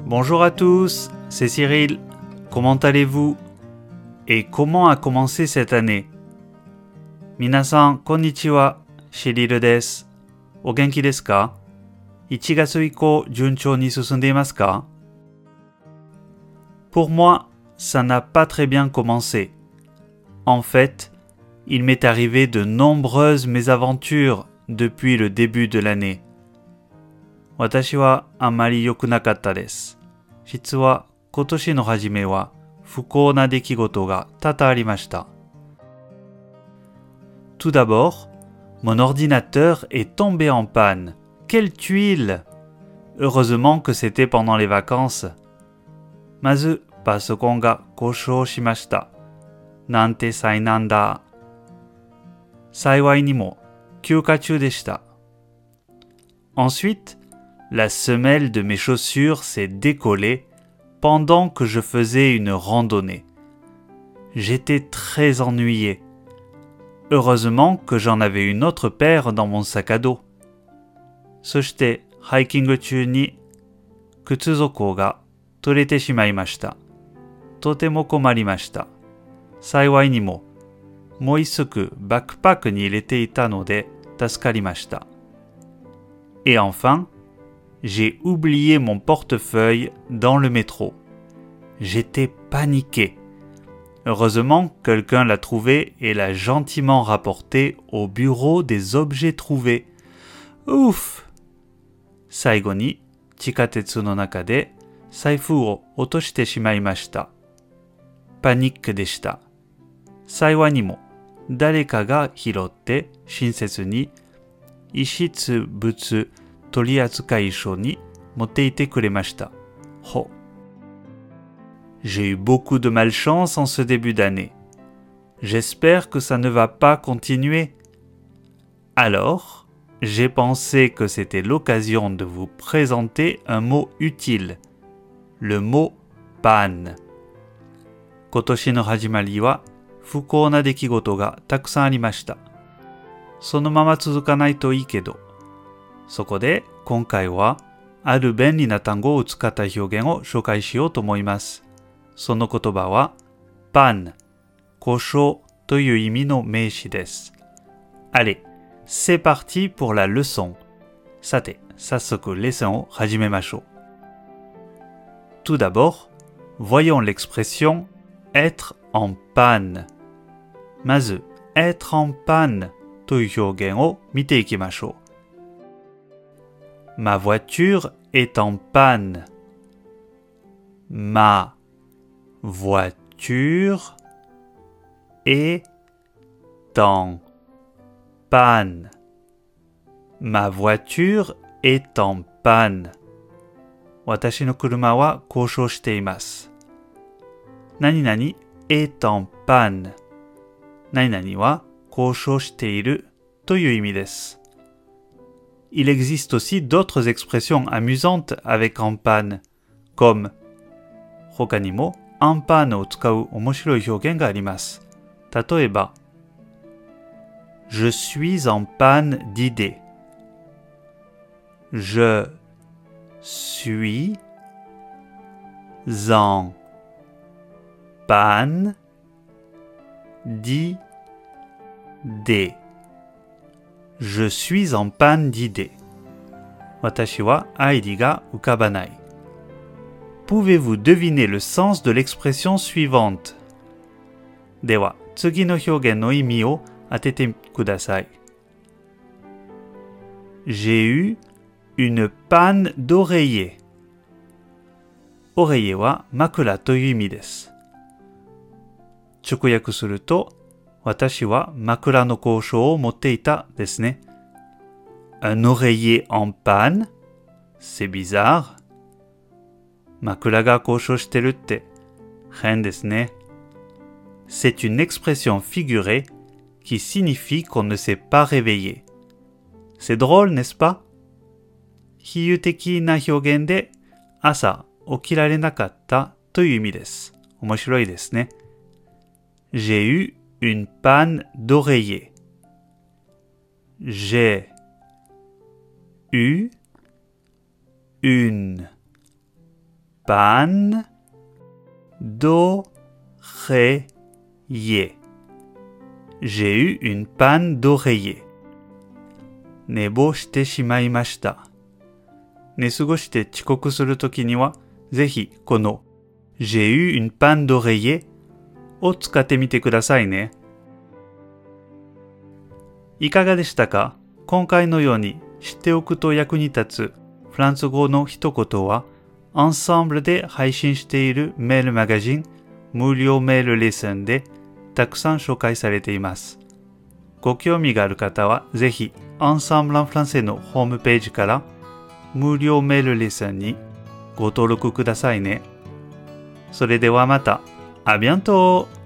Bonjour à tous, c'est Cyril. Comment allez-vous? Et comment a commencé cette année? 皆さん、こんにちは。シリルです。お元気ですか？ 1月以降、順調に進んでいますか？ Pour moi, ça n'a pas très bien commencé. En fait, il m'est arrivé de nombreuses mésaventures depuis le début de l'année. 私はあまり良くなかったです。実は今年の初めは不幸な出来事が多々ありました。Tout d'abord, mon ordinateur est tombé en panne. Quelle tuile! Heureusement que c'était pendant les vacances. まず、パソコンが故障しました。なんて災難だ。幸いにも休暇中でした。Ensuite, la semelle de mes chaussures s'est décollée pendant que je faisais une randonnée. J'étais très ennuyé. Heureusement que j'en avais une autre paire dans mon sac à dos. そして、ハイキング中に靴底が取れてしまいました。とても困りました。幸いにも、もう一足バックパックに入れていたので助かりました。Et enfin, j'ai oublié mon portefeuille dans le métro. J'étais paniqué. Heureusement, quelqu'un l'a trouvé et l'a gentiment rapporté au bureau des objets trouvés. Ouf! 最後に地下鉄の中で財布を落としてしまいました。パニックでした。幸いにも誰かが拾って親切に遺失物取扱所に持っていてくれました。ほ。J'ai eu beaucoup de malchance en ce début d'année. J'espère que ça ne va pas continuer. Alors, j'ai pensé que c'était l'occasion de vous présenter un mot utile. Le mot panne. 今年の始まりは不幸な出来事がたくさんありました。そのまま続かないといいけど。そこで今回はある便利な単語を使った表現を紹介しようと思います。その言葉はパン、故障という意味の名詞です。Allez, c'est parti pour la leçon. さて、早速レッスンを始めましょう。Tout d'abord, voyons l'expression être en panne. まず、être en panne という表現を見ていきましょう。Ma voiture est en panne. Ma voiture est en panne. Ma voiture est en panne. 私の車は故障しています。何々 est en panne. 何々は故障しているという意味です。Il existe aussi d'autres expressions amusantes avec en panne, comme 他にもen panneを使う面白い表現があります。例えば、Je suis en panne d'idées. Je suis en panne d'idées. Je suis en panne d'idées. 私はアイディが浮かばない。Pouvez-vous deviner le sens de l'expression suivante? では、次の表現の意味を当ててください。J'ai eu une panne d'oreiller. Oreiller は枕という意味です。直訳すると、私は枕の故障を持っていたですね。Un oreiller en panne? C'est bizarre. 枕が故障してるって変ですね。C'est une expression figurée qui signifie qu'on ne s'est pas réveillé. C'est drôle, n'est-ce pas? 比喩的な表現で朝起きられなかったという意味です。面白いですね。J'ai eu une panne d'oreiller. J'ai eu une panne d'oreiller. J'ai eu une panne d'oreiller. 寝坊してしまいました。寝過ごして遅刻するときには、ぜひこの J'ai eu une panne d'oreiller を使ってみてくださいね。いかがでしたか？今回のように知っておくと役に立つフランス語の一言は、Ensemble で配信しているメールマガジン、無料メールレッスンでたくさん紹介されています。ご興味がある方は、ぜひ Ensemble en français のホームページから無料メールレッスンにご登録くださいね。それではまた。À bientôt!